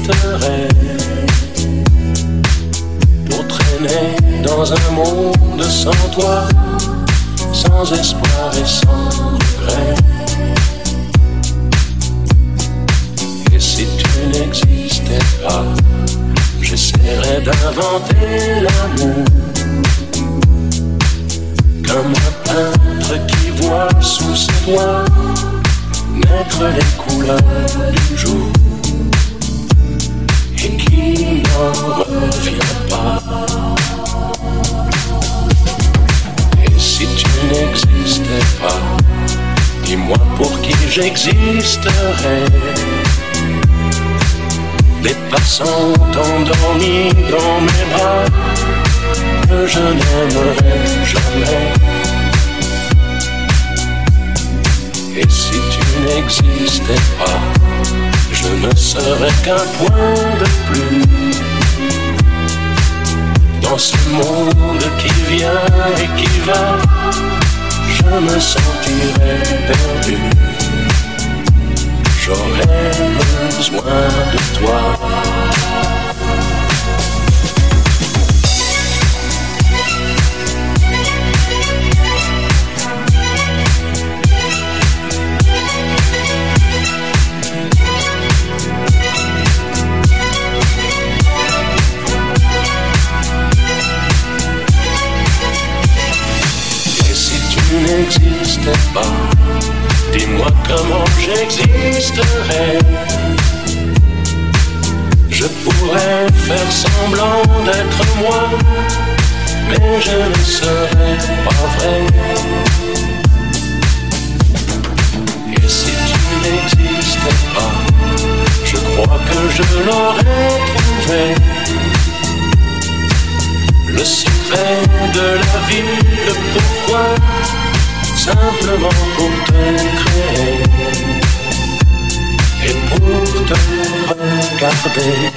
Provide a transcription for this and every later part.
j'existerais pour traîner dans un monde sans toi, sans espoir et sans regret. Et si tu n'existais pas, j'essaierais d'inventer l'amour, comme un peintre qui voit sous ses doigts naître les couleurs du jour et qui n'en revient pas. Et si tu n'existais pas, dis-moi pour qui j'existerais. Des passants endormis dans mes bras que je n'aimerais jamais. Et si tu n'existais pas, je ne serais qu'un point de plus dans ce monde qui vient et qui va. Je me sentirais perdu. J'aurais besoin de toi. Et si tu n'existais pas, dis-moi comment j'existerais. Je pourrais faire semblant d'être moi, mais je ne serais pas vrai. Et si tu n'existais pas, je crois que je l'aurais trouvé. Le secret de la vie, le pourquoi, simplement pour te créer et pour te regarder.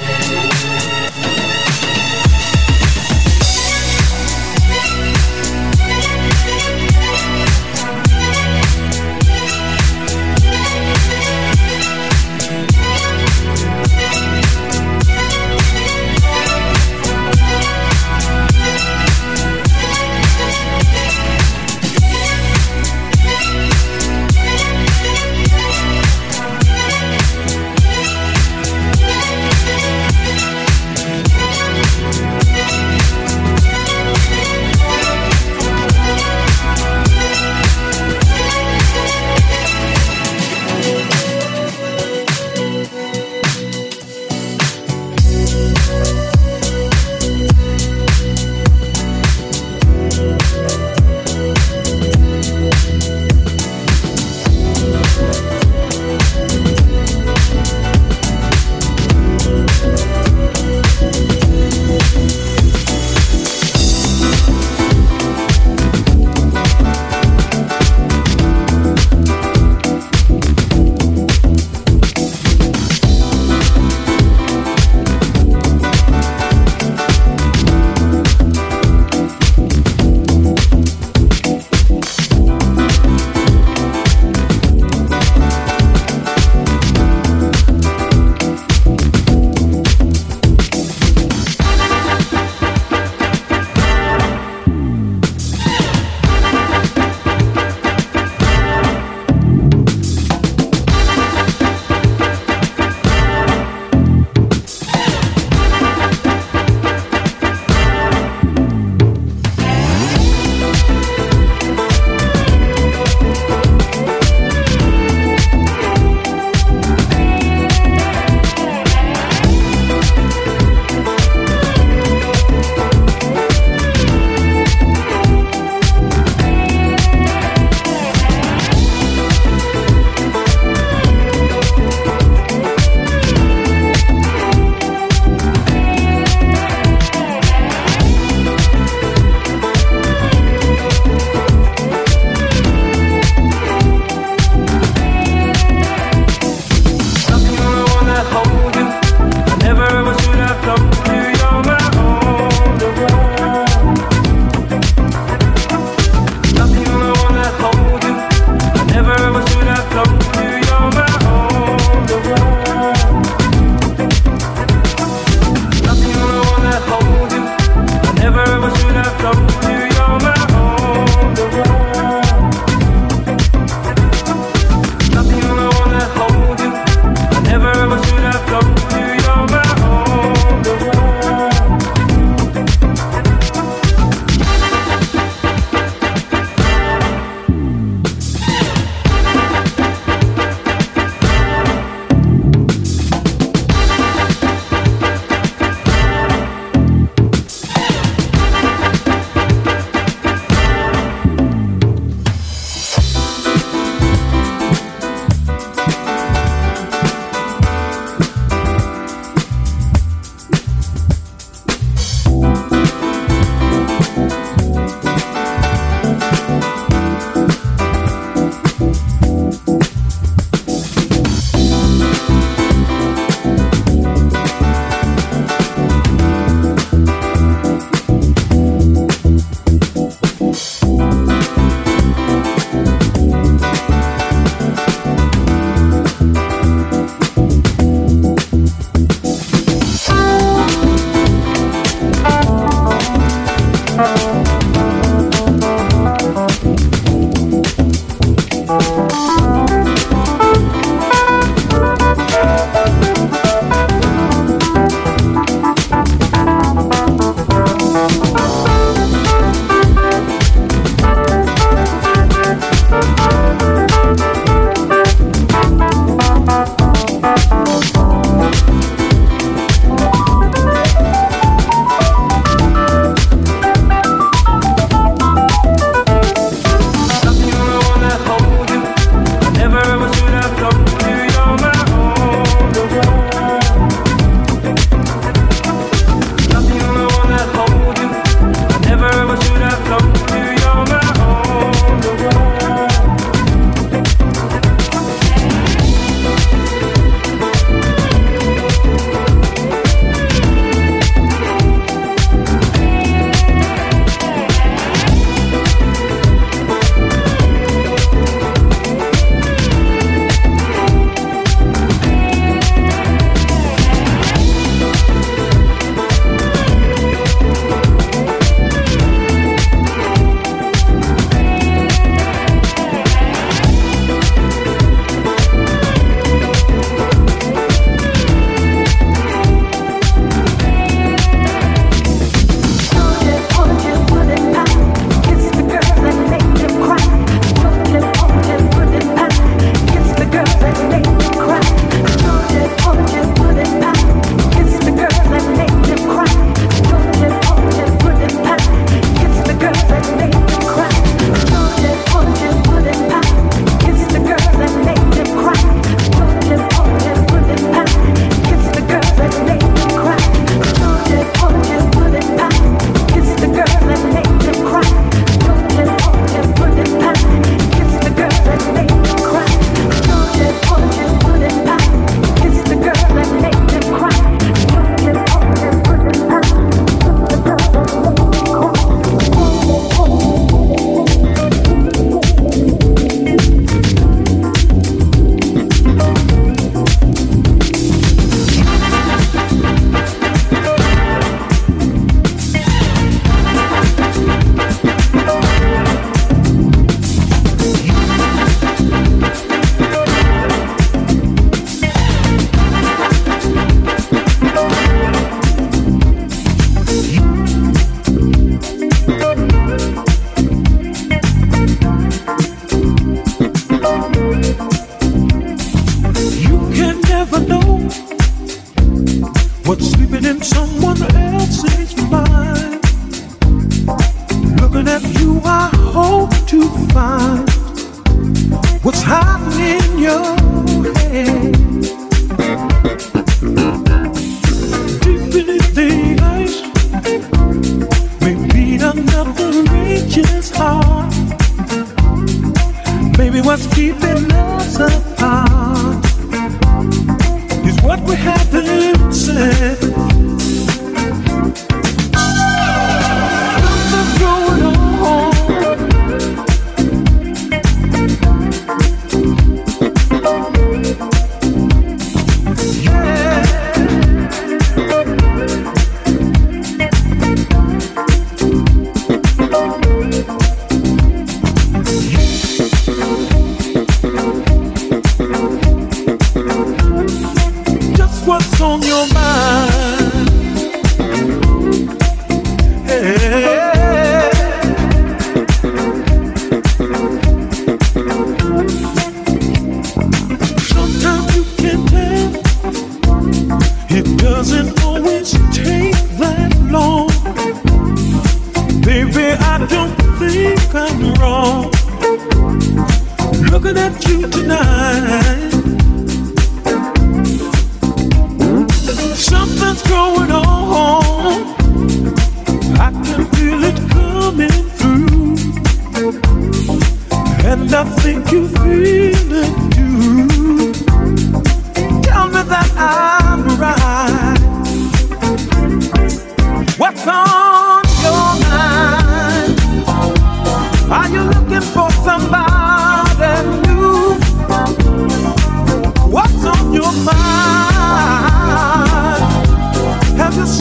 Have you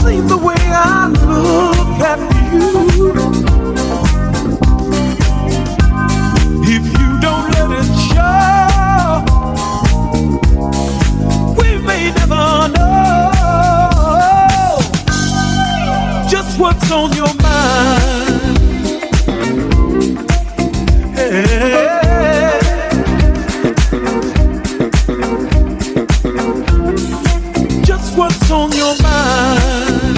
on your mind? Hey. Just what's on your mind?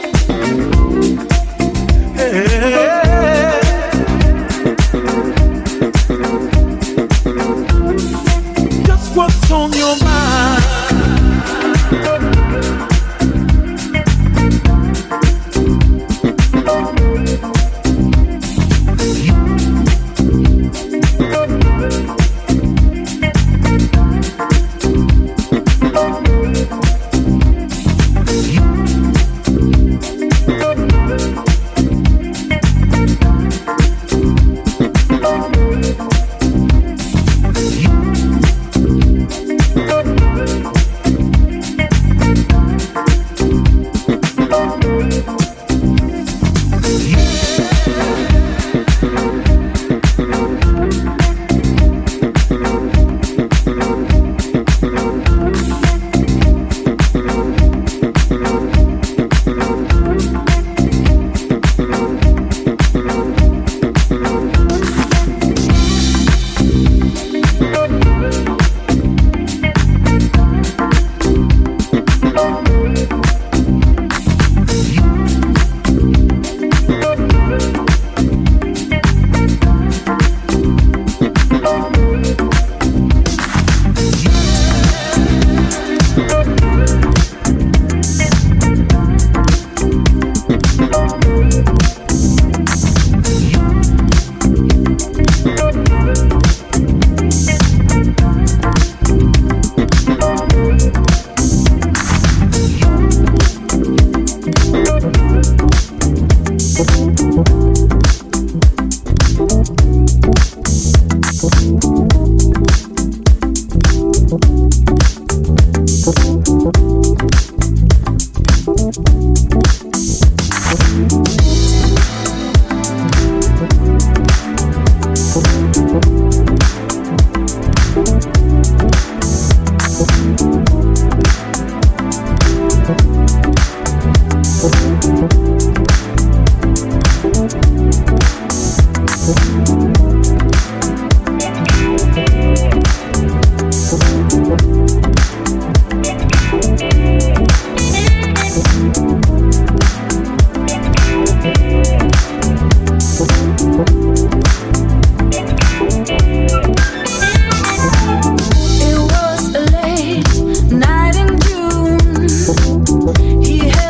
Hey. Just what's on your mind?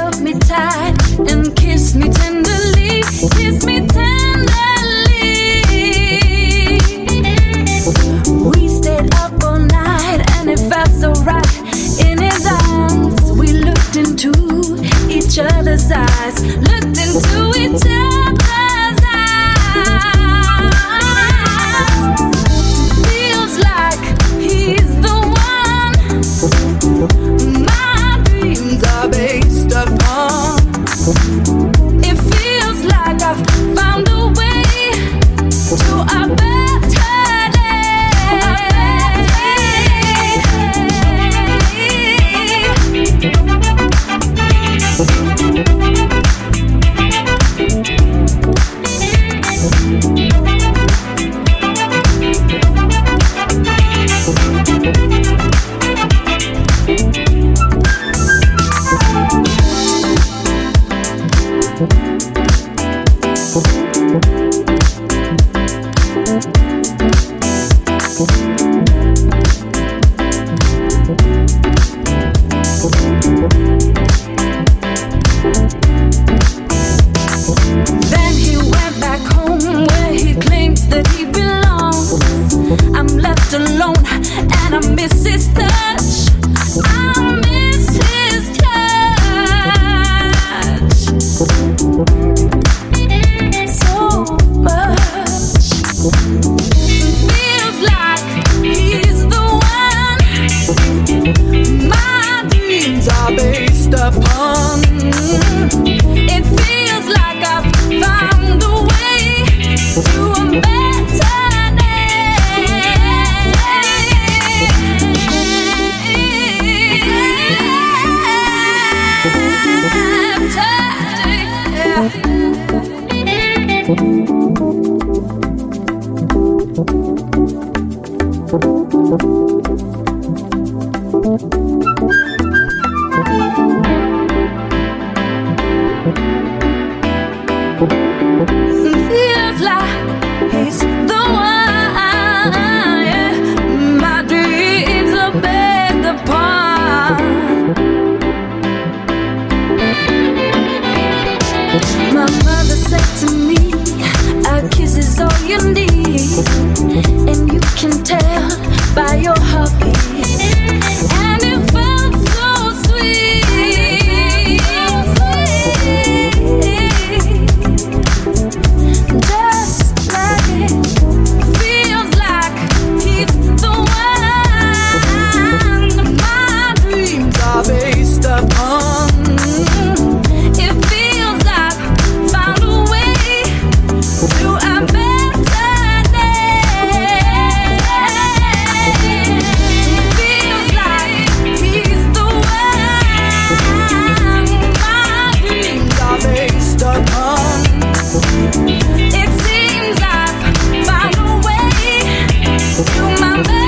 Kiss me tenderly, Feels like he's the one, yeah. My dreams are based upon. My mother said to me, a kiss is all you need, and you can tell by your heartbeat. And it felt so sweet. Just like it feels like he's the one my dreams are based upon. It feels like found a way to a better day. Feels like he's the one my dreams are based upon. It seems I've found a way to my better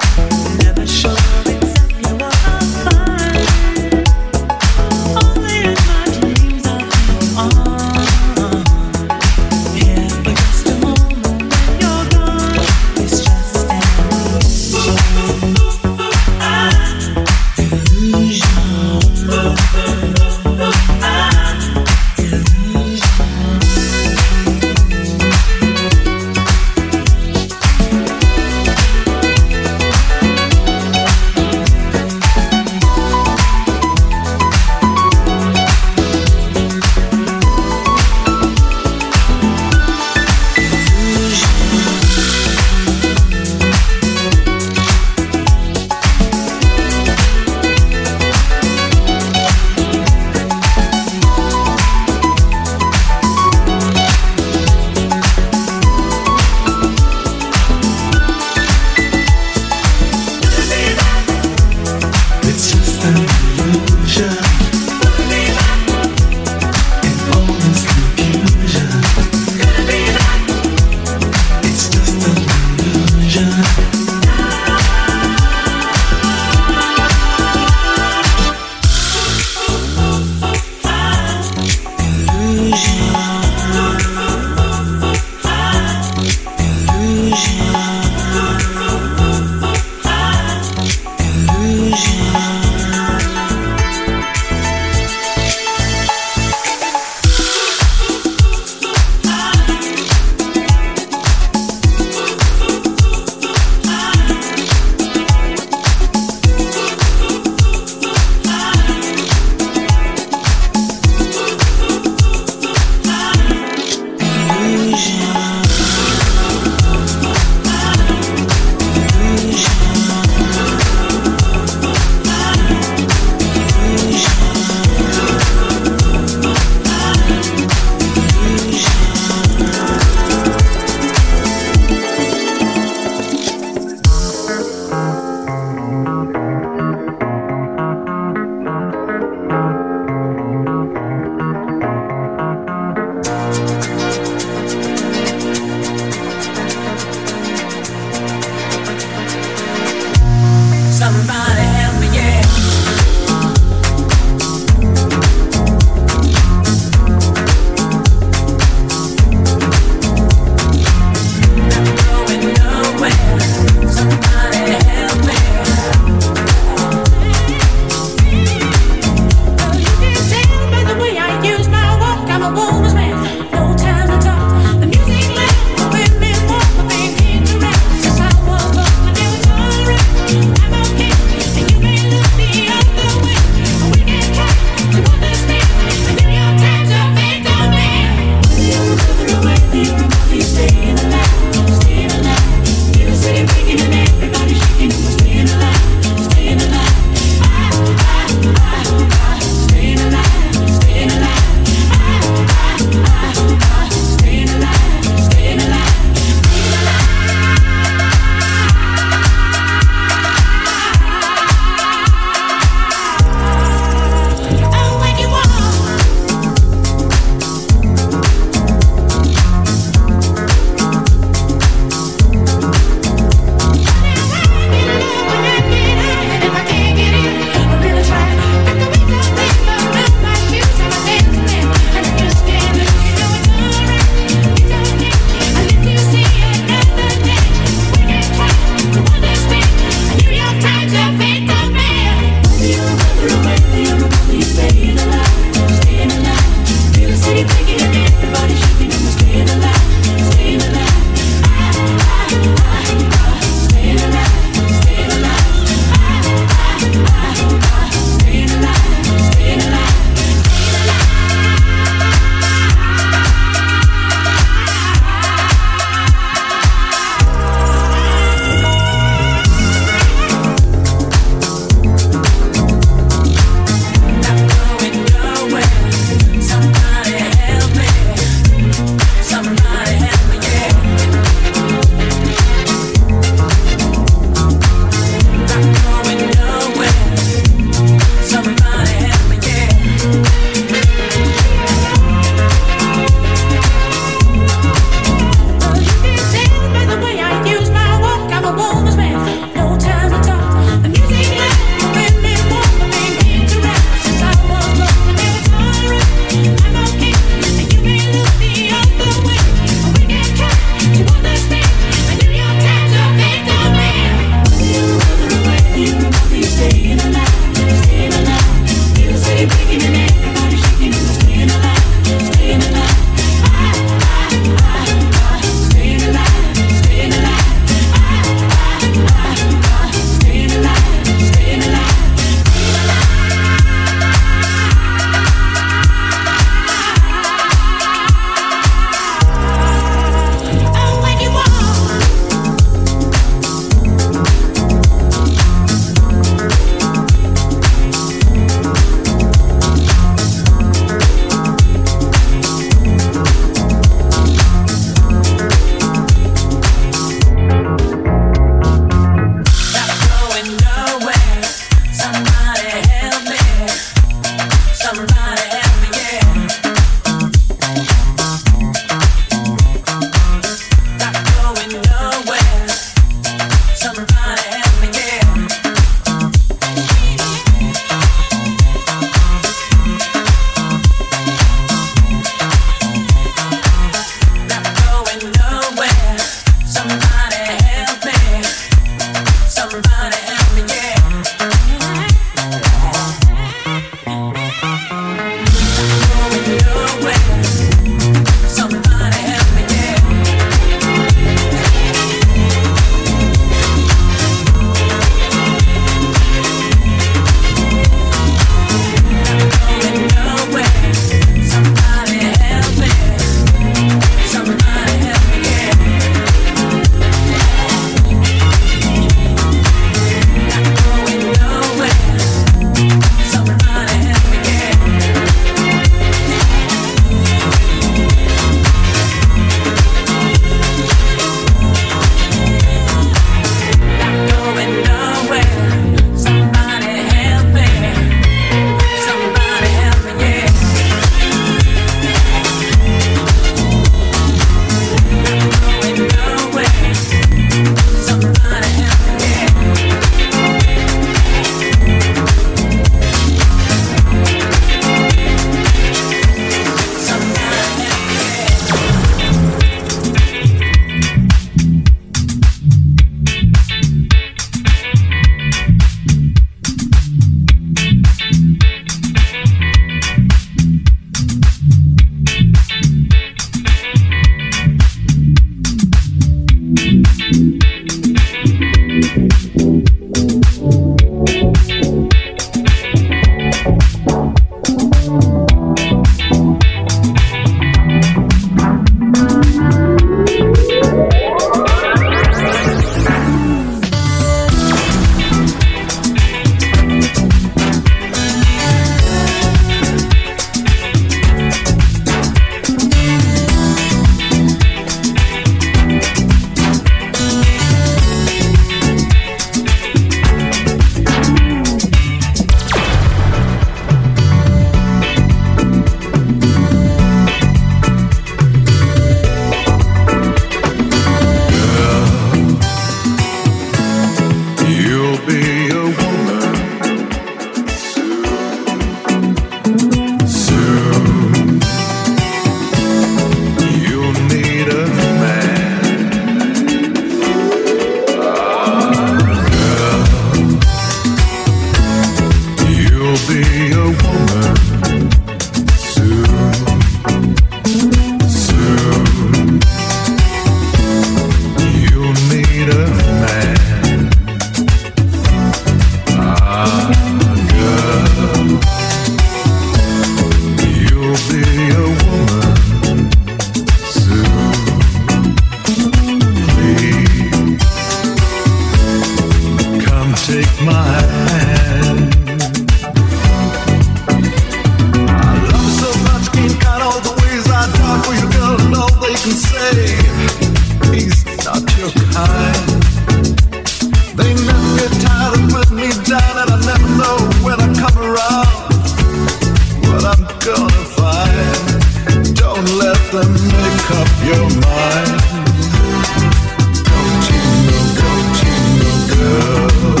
up your mind. Don't you know, girl,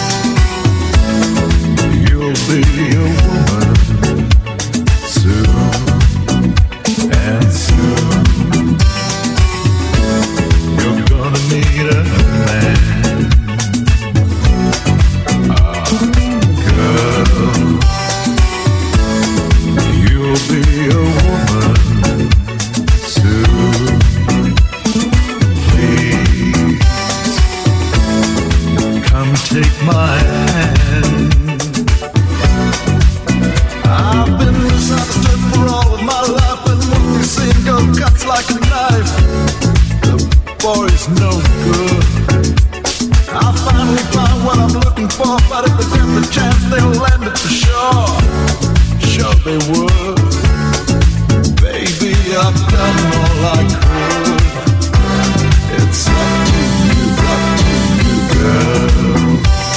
you'll be a woman soon, and soon you're gonna need a man. Girl, you'll be a woman soon. Please come take my hand. I've been misunderstood for all of my life, and when you see him go cuts like a knife, the boy's no good. I finally found what I'm looking for, but if they get the chance, they'll land it for sure. Sure they would. Baby, I've done all I could. It's up to you, girl.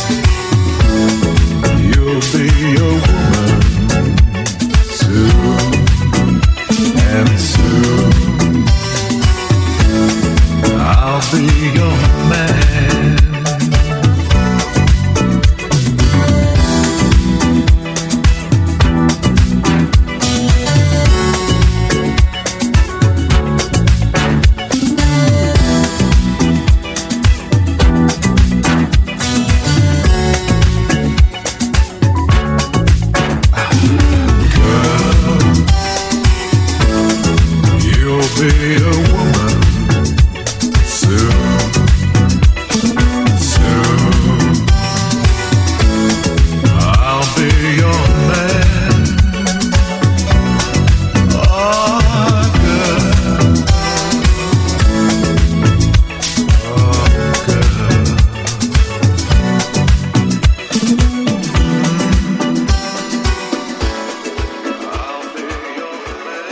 You'll be a woman soon, and soon I'll be your man. Be a woman soon, soon. I'll be your man. Oh, girl. Oh, girl. I'll be your man.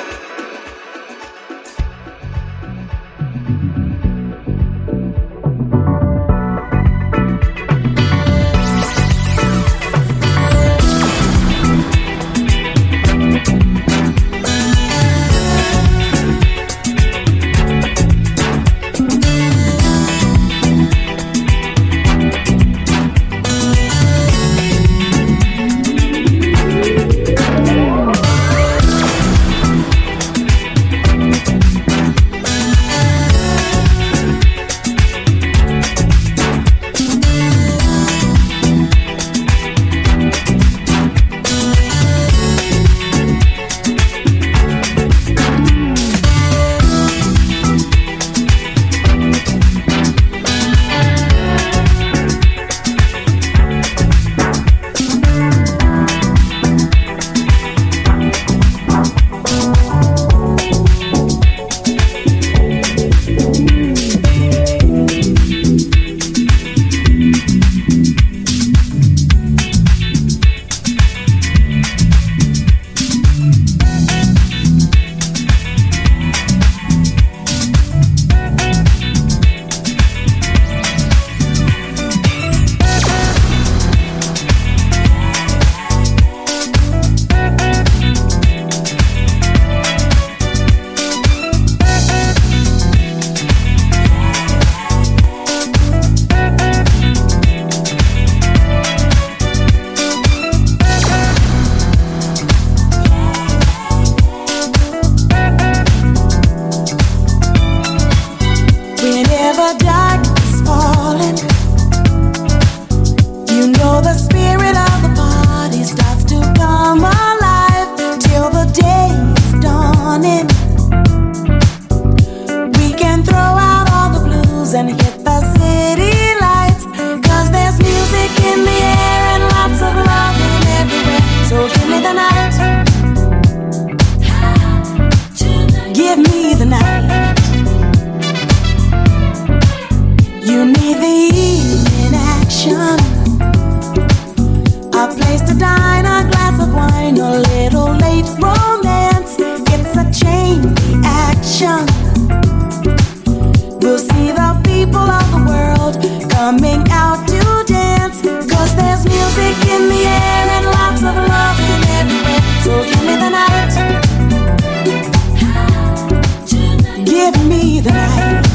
Give me the night.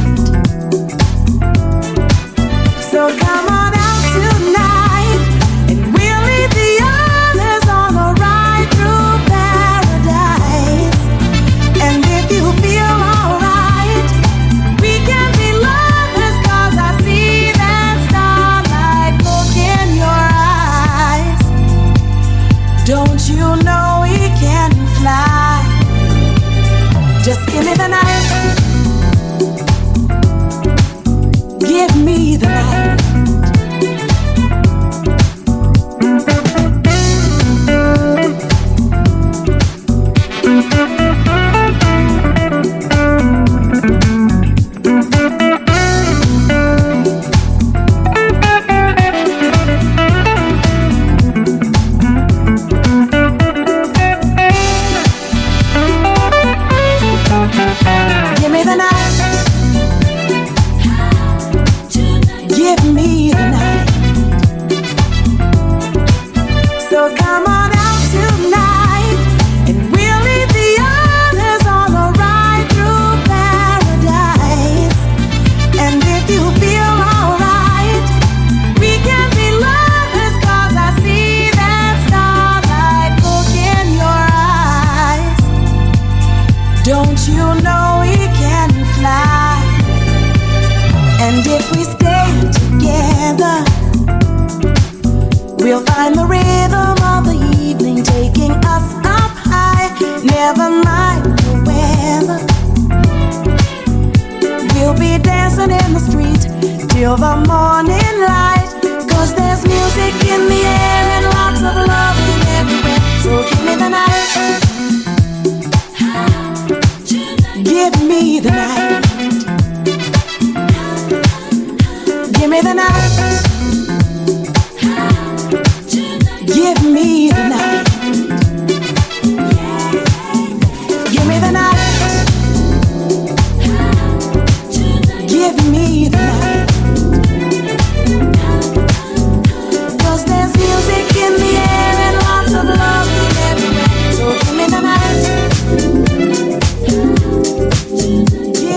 So come on out tonight, and we'll leave the others on the ride through paradise. And if you feel alright, we can be lovers, 'cause I see that starlight look in your eyes. Don't you know we can fly? Just give me the night. Give me the night. Give me the night. Give me the night. So come on out tonight, and we'll leave the others on the ride through paradise. And if you feel alright, we can be lovers, 'cause I see that starlight look in your eyes. Don't you know we can fly? And if we stay together, we'll find the rhythm of the evening taking us up high. Never mind the weather, we'll be dancing in the street till the morning light. 'Cause there's music in the air and lots of love everywhere. So give me the night. Give me the night. Give me the night. Give me the night. Give me the night. Give me the night. 'Cause there's music in the air and lots of love everywhere. So give me the night.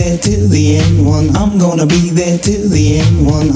there till the end. One, I'm gonna be there till the end. One.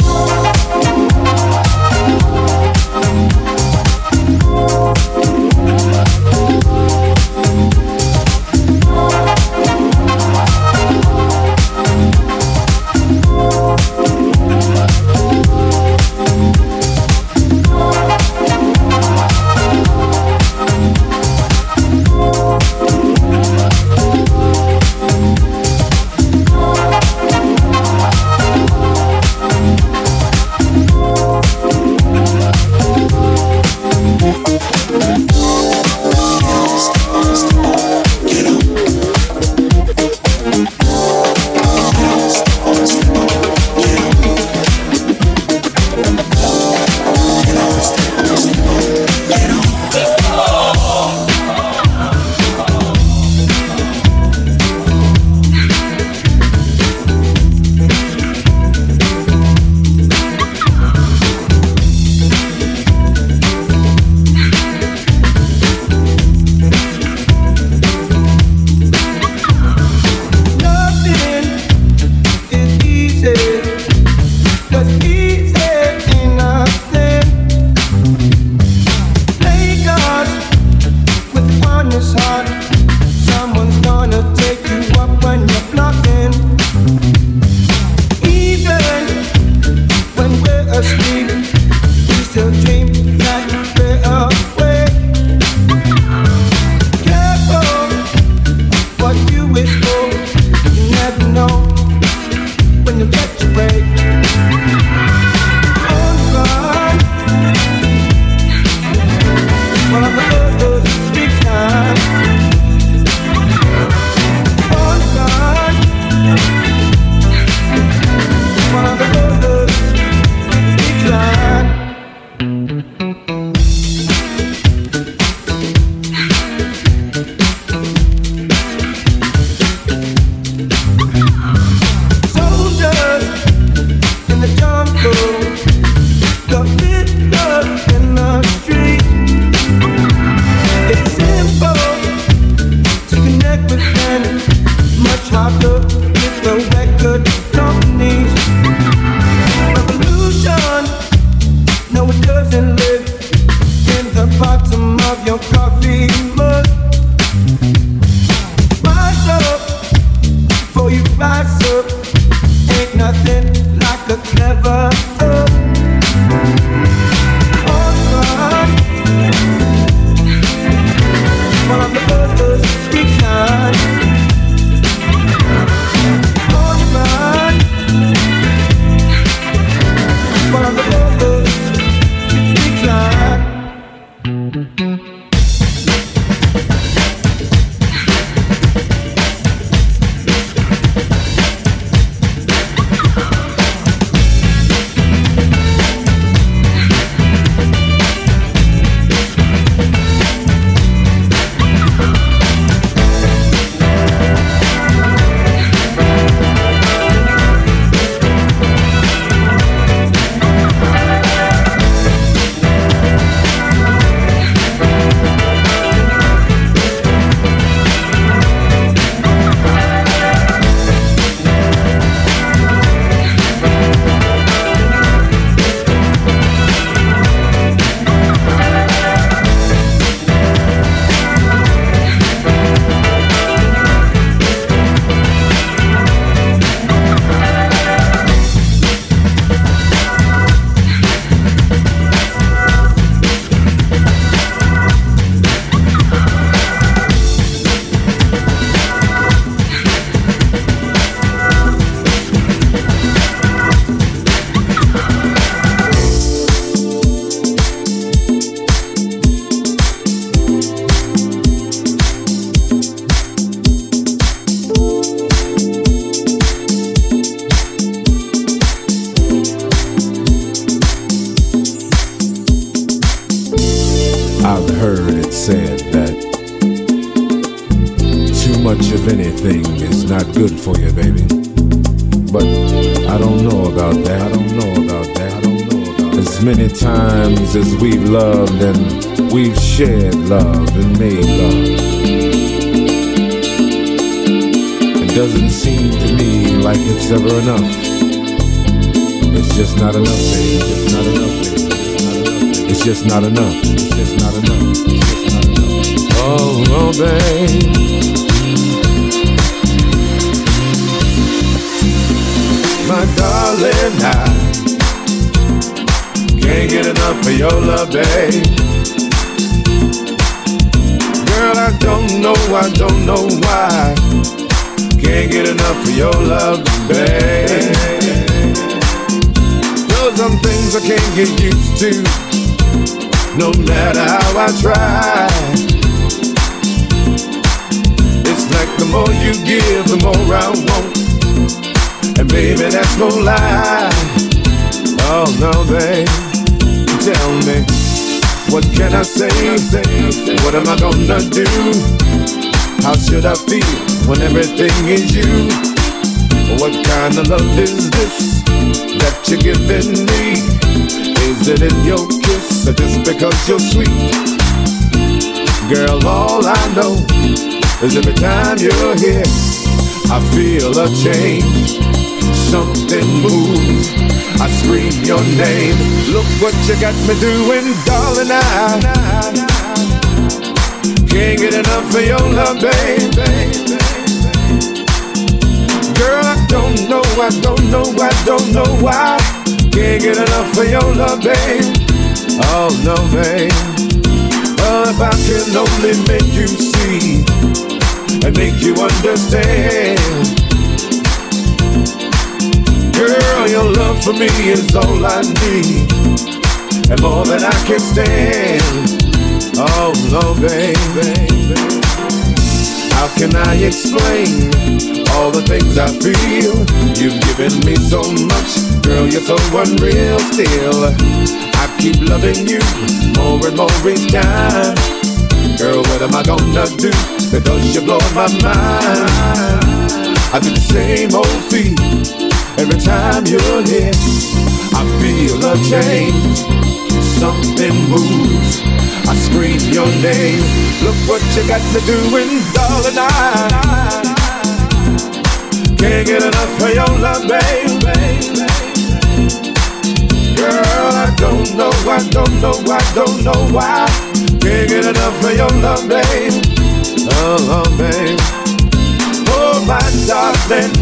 much of anything is not good for you, baby. But I don't know about that. I don't know about that. I don't know about that. As many times as we've loved and we've shared love and made love, it doesn't seem to me like it's ever enough. It's just not enough, baby. It's just not enough, baby. It's just not enough. It's just not enough. It's just not enough. Oh, oh, babe. My darling, I can't get enough of your love, babe. Girl, I don't know why. Can't get enough of your love, babe. There's some things I can't get used to, no matter how I try. It's like the more you give, the more I want. And baby, that's no lie. Oh no, babe. Tell me, what can I say? What am I gonna do? How should I feel when everything is you? What kind of love is this that you're giving me? Is it in your kiss or just because you're sweet? Girl, all I know is every time you're here, I feel a change. Something moves, I scream your name. Look what you got me doing, darling. I can't get enough of your love, baby. Girl, I don't know why. Can't get enough of your love, babe. Oh no, babe. Oh, if I can only make you see and make you understand. Girl, your love for me is all I need, and more than I can stand. Oh no, baby. How can I explain all the things I feel? You've given me so much, girl, you're so unreal still. I keep loving you more and more each time. Girl, what am I gonna do? Because you blow my mind. I do the same old thing every time you're here. I feel a change, something moves, I scream your name. Look what you got me doing, darling. I can't get enough of your love, baby. Girl, I don't know why. Can't get enough of your love, babe. Oh, babe. Oh, my darling,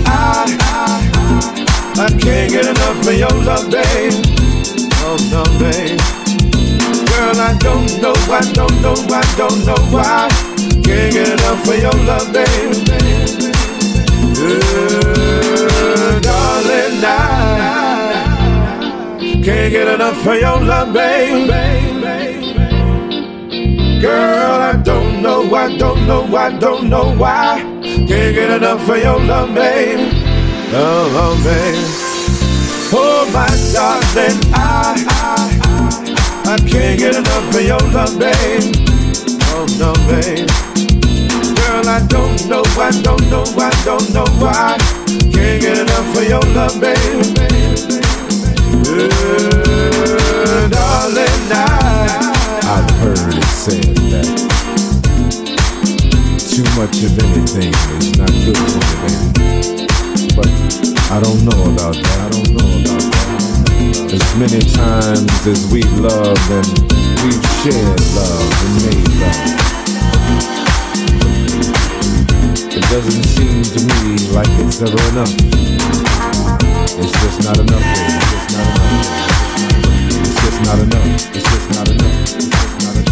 I can't get enough of your love, babe. Oh no, babe. Girl, I don't know why. Can't get enough of your love, babe. Darling, I can't get enough of your love, babe. Girl, I don't know why. Can't get enough of your love, babe. Oh, babe. Oh, my darling, I can't get enough of your love, babe. Oh, no, babe. Girl, I don't know why. Can't get enough of your love, babe. Darling, I've heard it said that too much of anything is not good for you, baby. But I don't know about that. As many times as we've loved and we've shared love and made love, it doesn't seem to me like it's ever enough. It's just not enough, baby. It's just not enough. It's just not enough. It's just not enough. It's just not enough.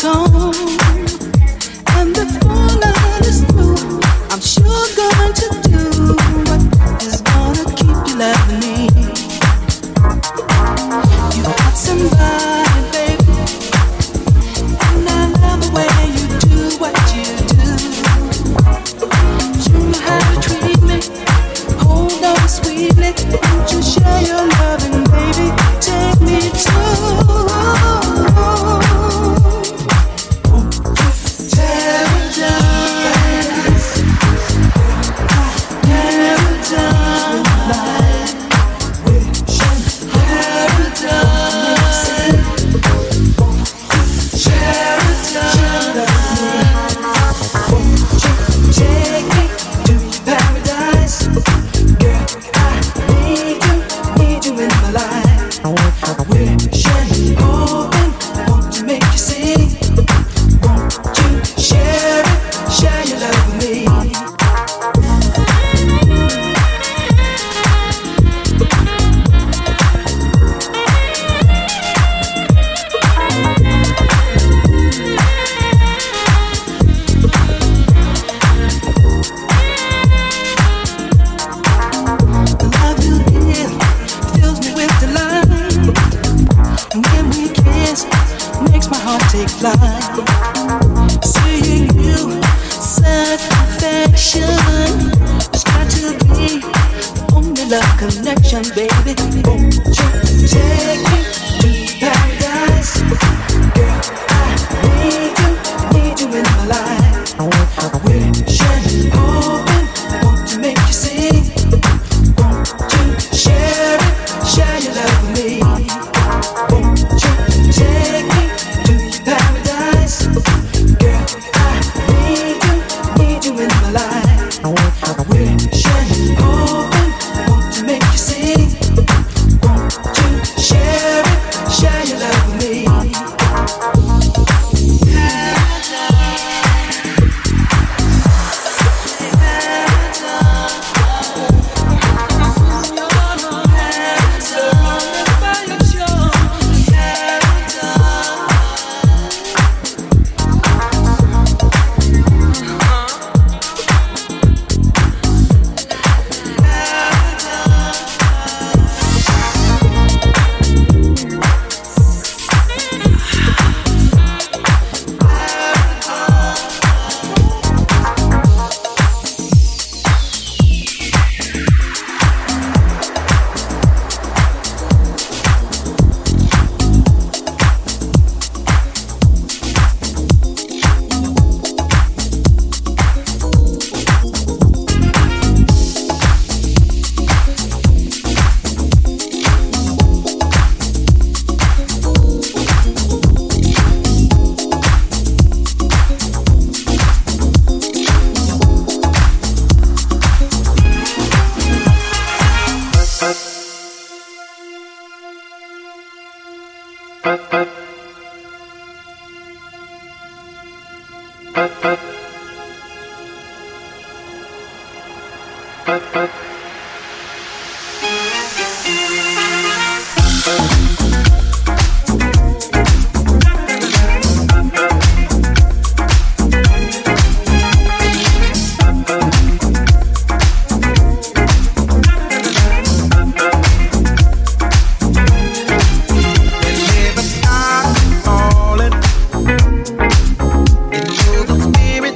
Spirit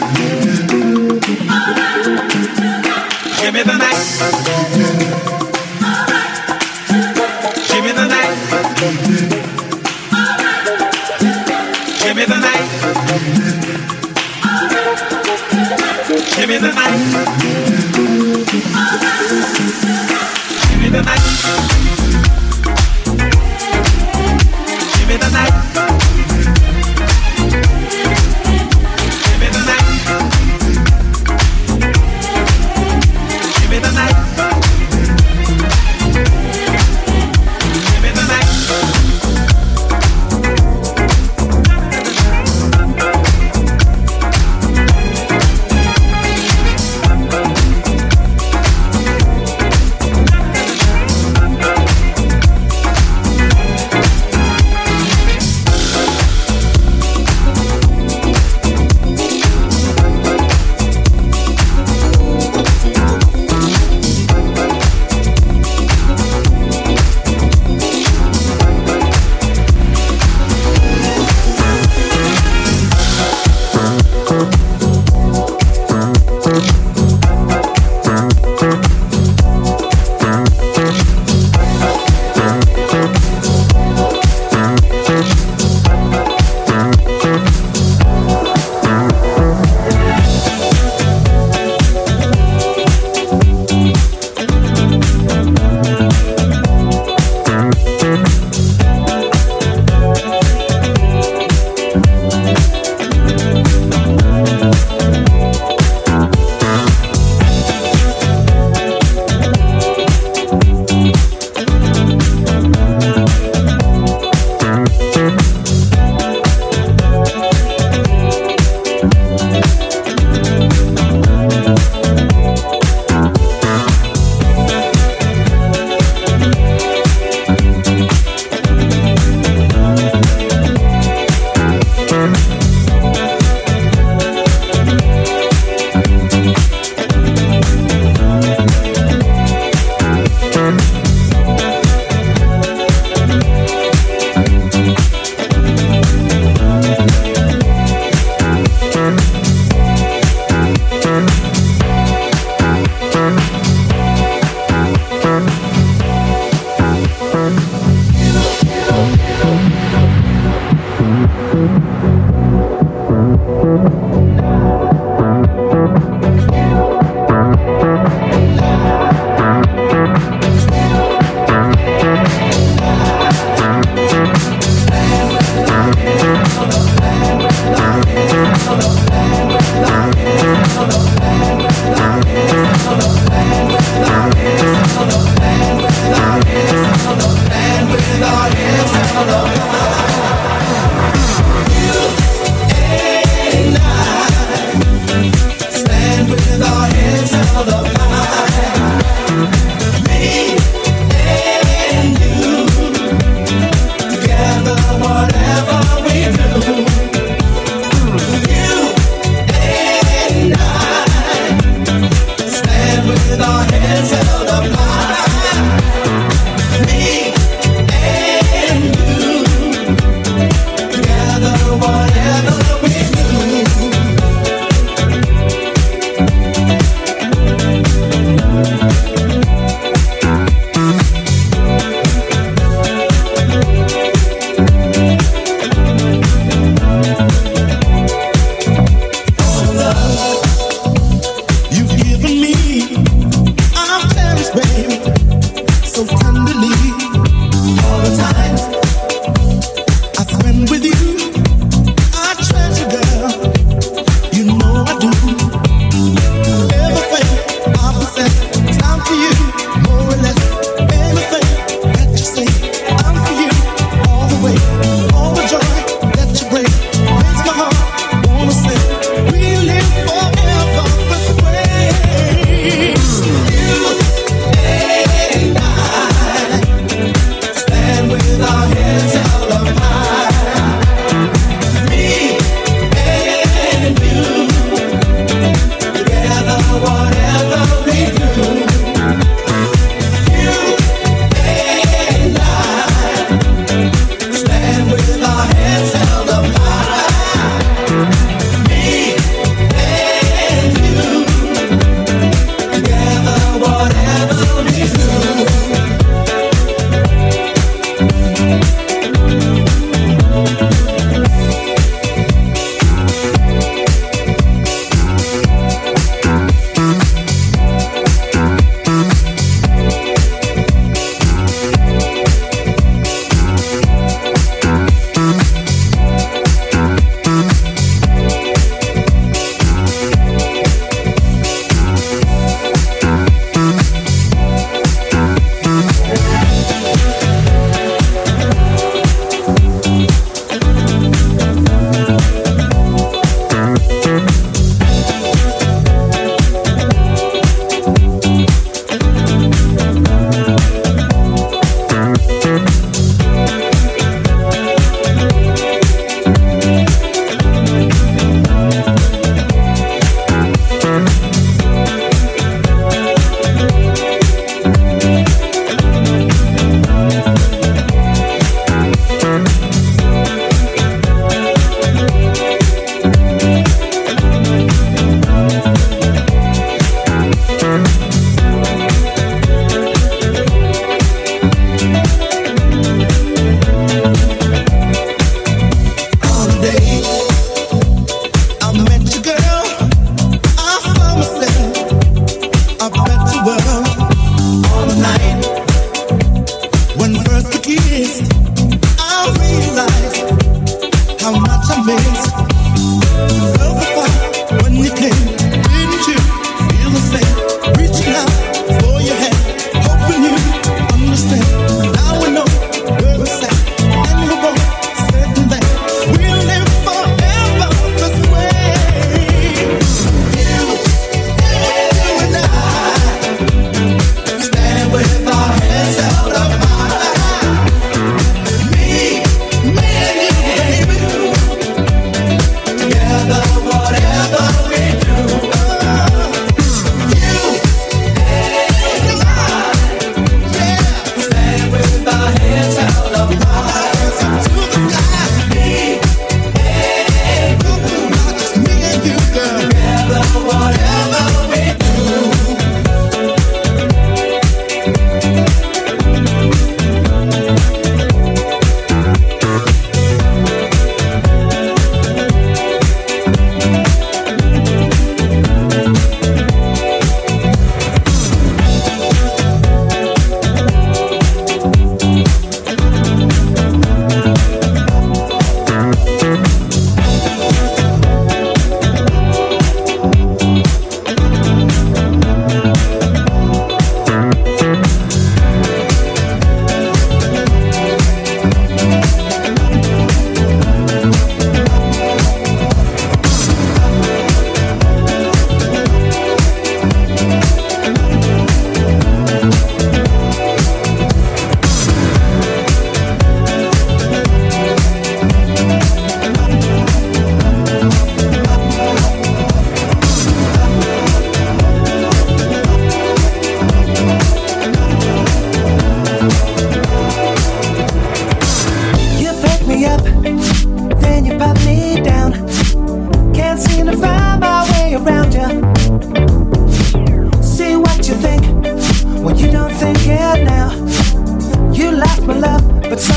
Give me the night. Give me the night. Give me the night. Give me the night. Give me the night. Give me the night. Give me the night. Give me the night. Give me the night.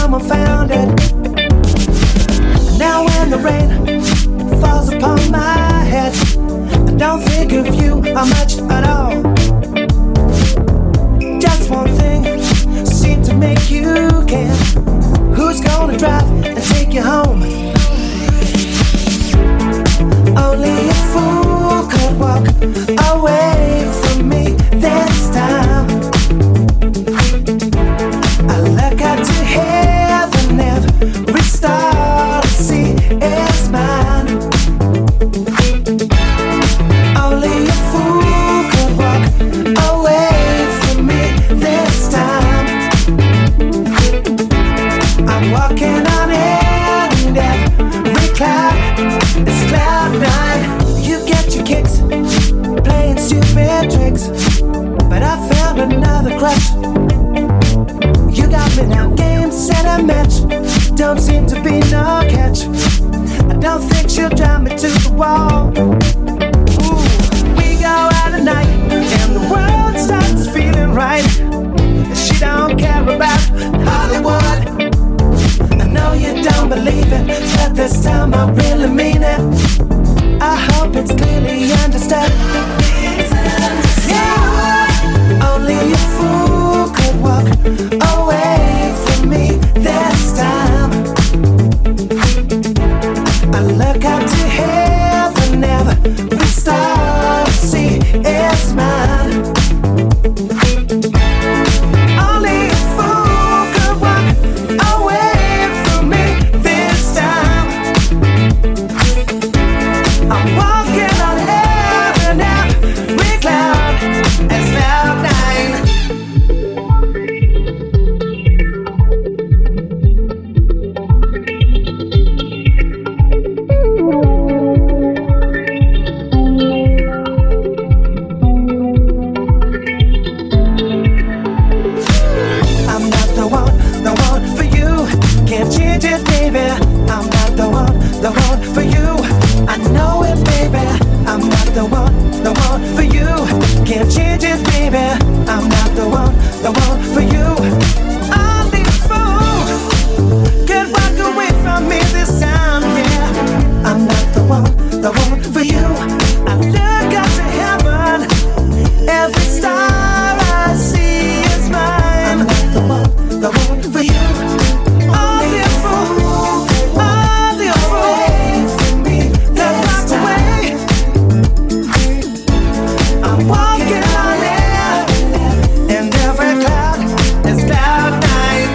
someone found it. Now when the rain falls upon my head, I don't think of you much at all. Just one thing seemed to make you care. Who's gonna drive and take you home? Only a fool could walk away from me this time. I look up to heaven, every star to see is mine. Only a fool could walk away from me this time. I'm walking on air and every cloud is cloud nine. You get your kicks playing stupid tricks, but I found another crush. You got me now, game, set, and match. Don't seem to be no catch. I don't think she'll drive me to the wall. Ooh, we go out at night and the world starts feeling right. She don't care about Hollywood. I know you don't believe it, but this time I really mean it. I hope it's clearly understood. Yeah. Only a fool could walk away from me this time. I look up to heaven, every star I see is mine. Only a fool could walk away from me this time. I'm walking on heaven, every cloud is cloud nine. I'm not the one for you. Can't change it, baby. I'm not the one for you. I know it, baby. I'm not the one for you. Can't change it, baby. I'm not the one for you. Only a fool could walk away from me this time, yeah. I'm not the one for you. I look up to heaven, every star I see is mine. I'm not the one for you. Only a fool for me that walked away. I'm walking on air, and every cloud is cloud nine.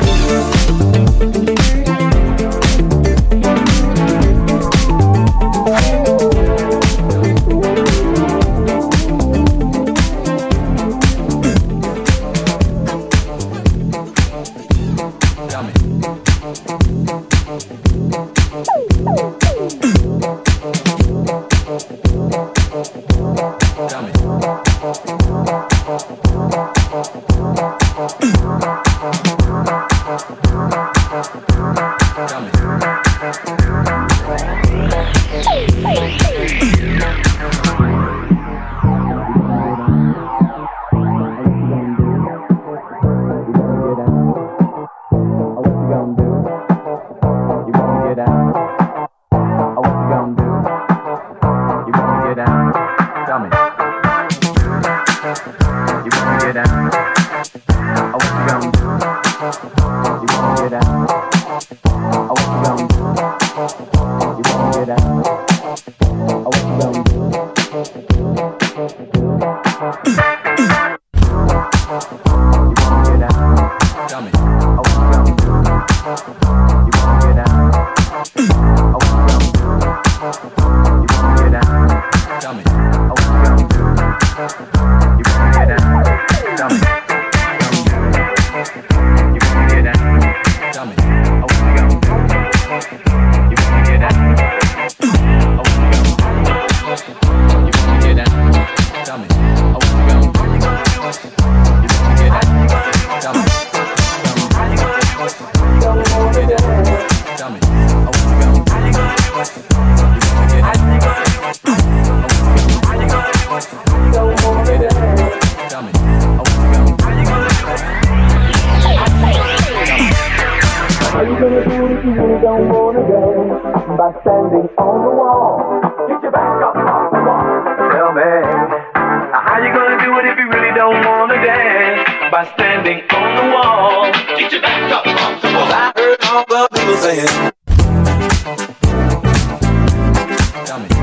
by standing on the wall. Get your back up off the wall. Tell me, how you gonna do it if you really don't wanna dance? By standing on the wall. Get your back up off the wall. I heard all the people saying. Tell me.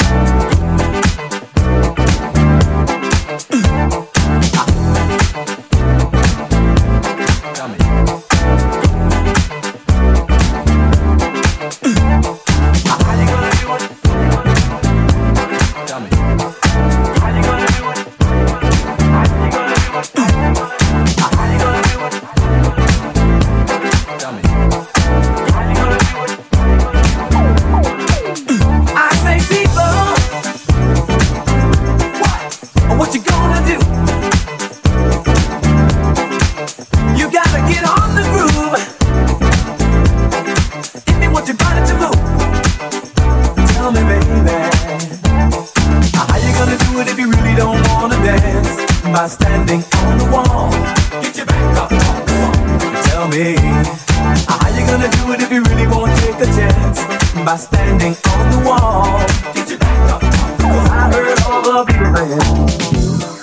By standing on the wall. Get your back up on the wall. Tell me, how you gonna do it if you really won't take a chance? By standing on the wall. Get your back up on the wall. I heard all the people saying.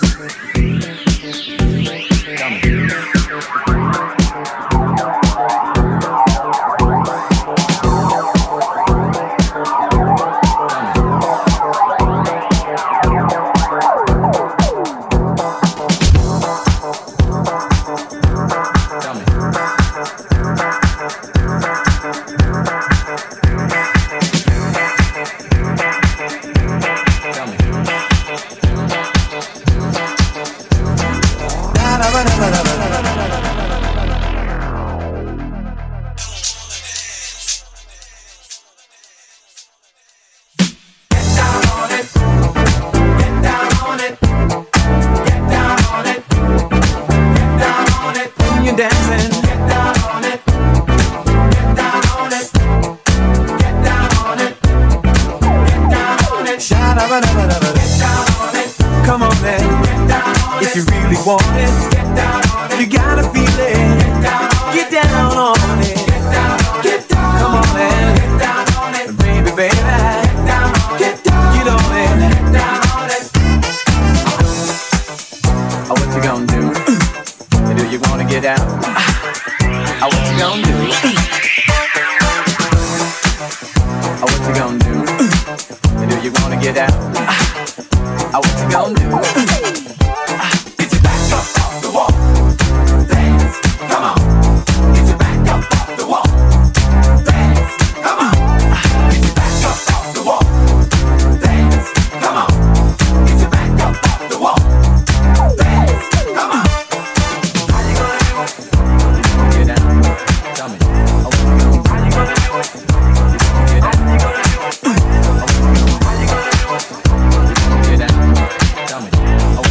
Come on, man. If you really want it, you gotta feel it. Get down on it. Come on, man. Baby, baby. Get on it. Oh, what you gonna do? Do you wanna get out? Oh, what you gonna do? Oh, what you gonna do? Do you wanna get out? Oh, what you gonna do? Get your back up off the wall. Dance, come on. Get your back up off the wall. Dance, come on. Get your back up off the wall. Dance, come on. Get your back up off the wall. Dance, come on. How you gonna do it? Get down. Tell me. Oh, what you gonna do? How you gonna do it? Get down. How you gonna do it? How you gonna do it? Get down. Tell me. Oh,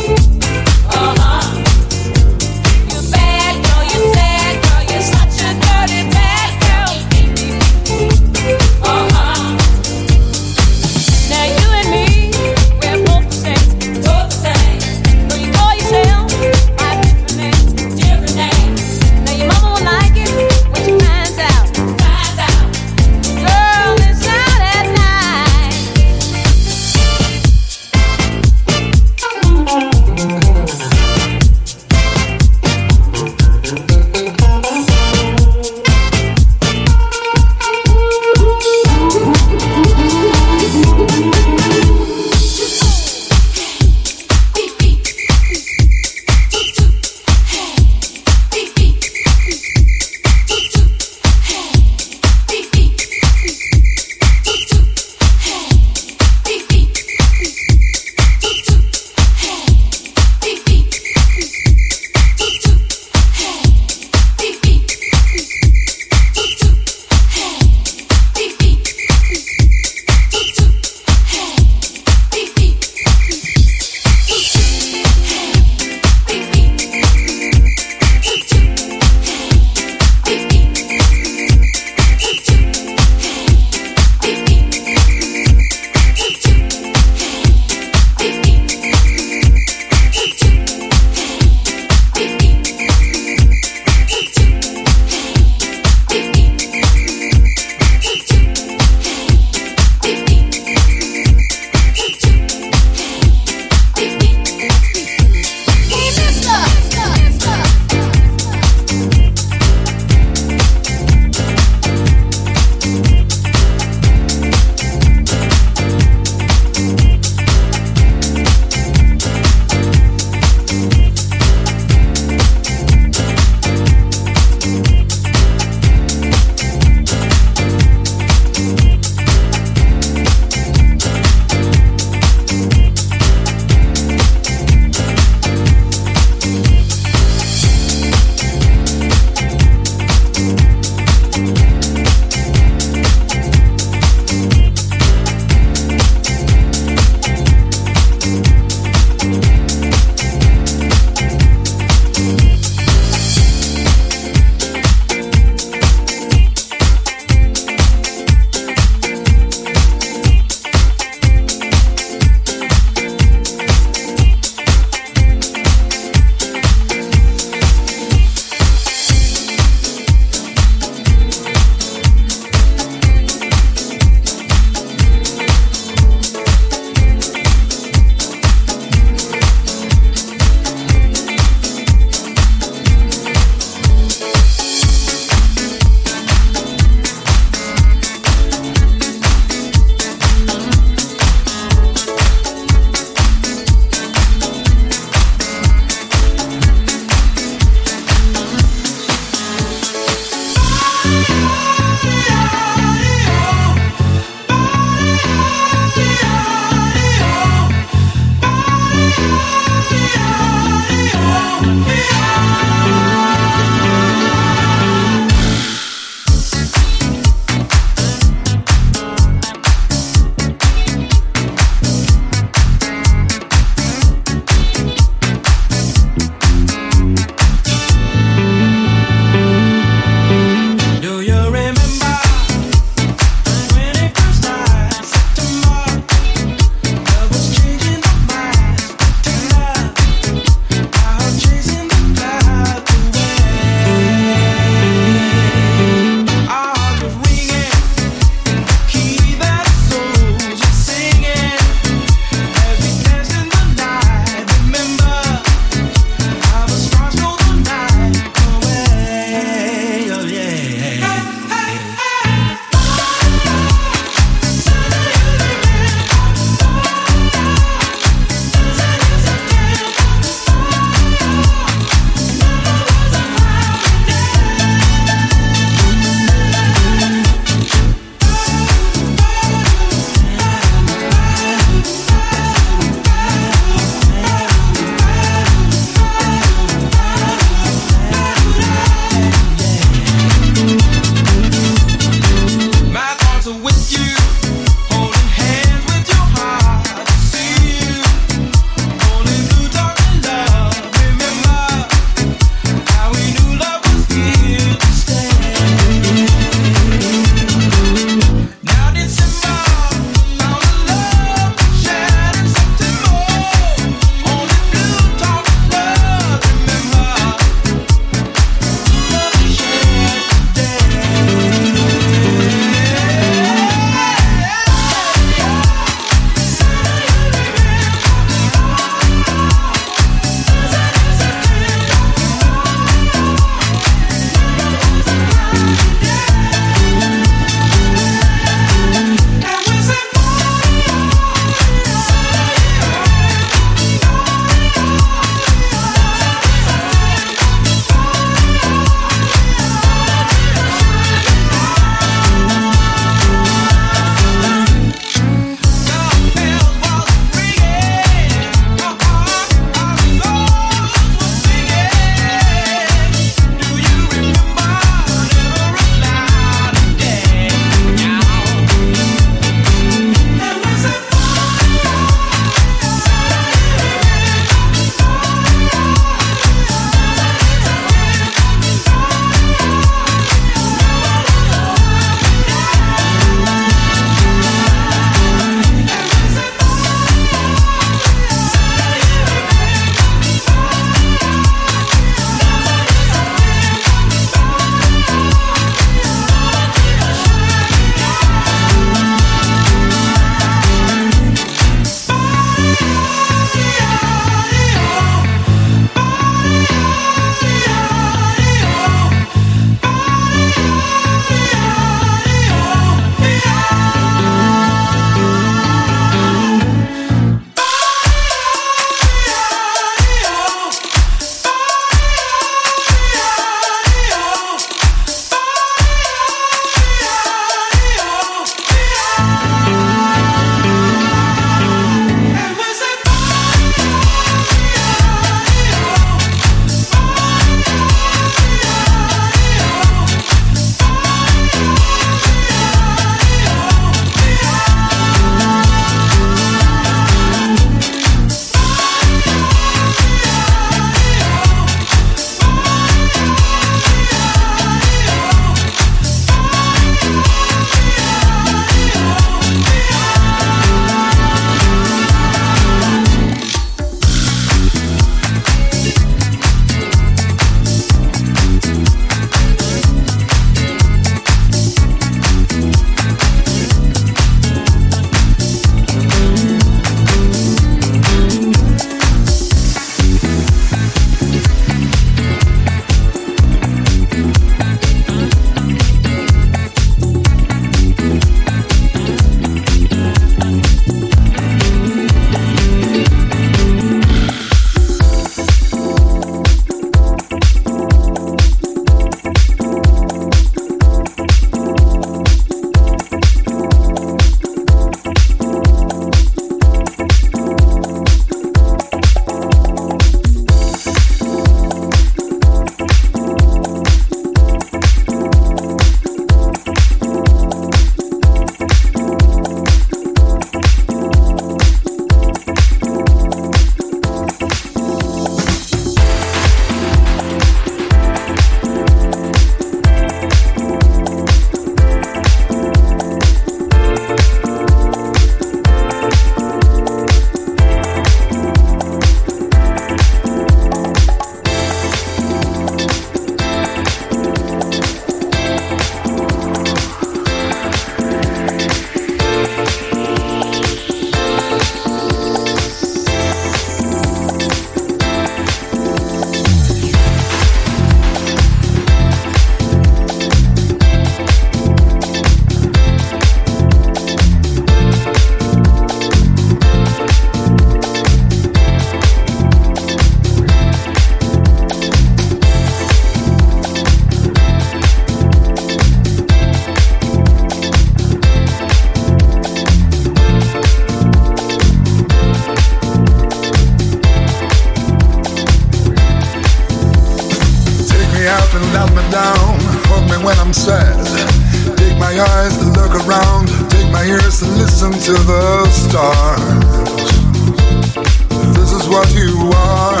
my eyes to look around, take my ears to listen to the stars. This is what you are.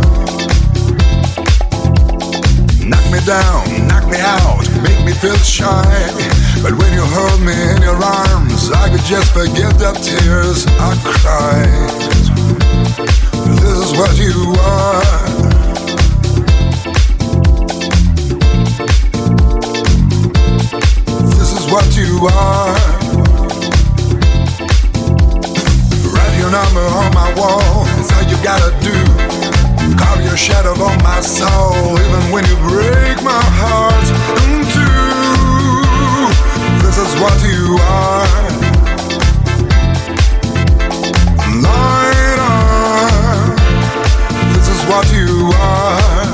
Knock me down, knock me out, make me feel shy. But when you hold me in your arms, I could just forget the tears I cried. This is what you are. This is what you are. Write your number on my wall, that's all you gotta do. Carve your shadow on my soul, even when you break my heart in two. This is what you are. Light on. This is what you are.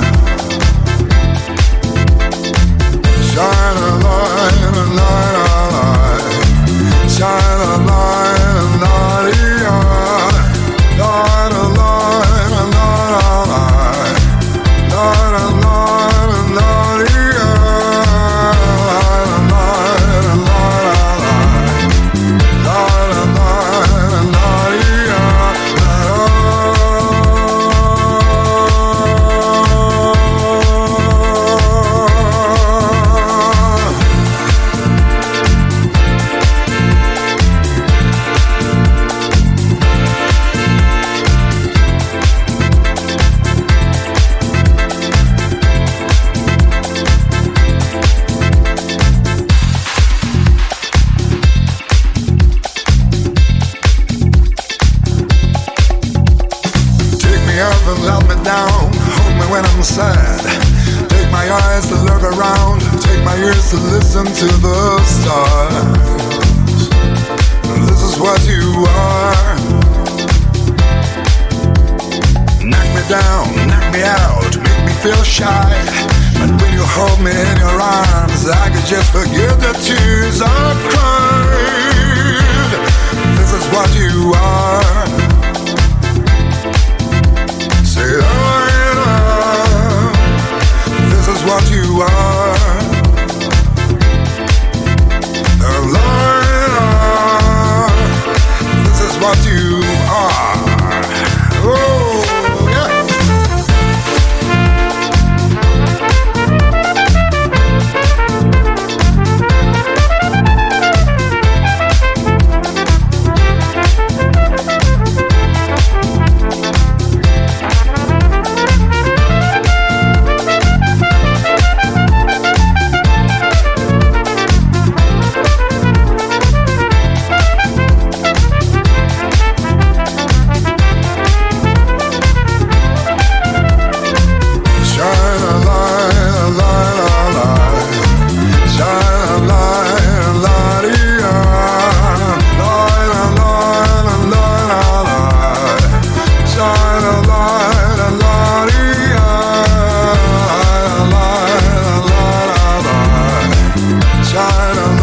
Shine a light, a light, a light. Shine a light, a light, light a light, a light, a light. Light a light, a light, to listen to the stars. This is what you are. Knock me down, knock me out, make me feel shy. But when you hold me in your arms, I could just forget the tears I cried. This is what you are. Say, this is what you are. This is what you are. Oh, yeah. China.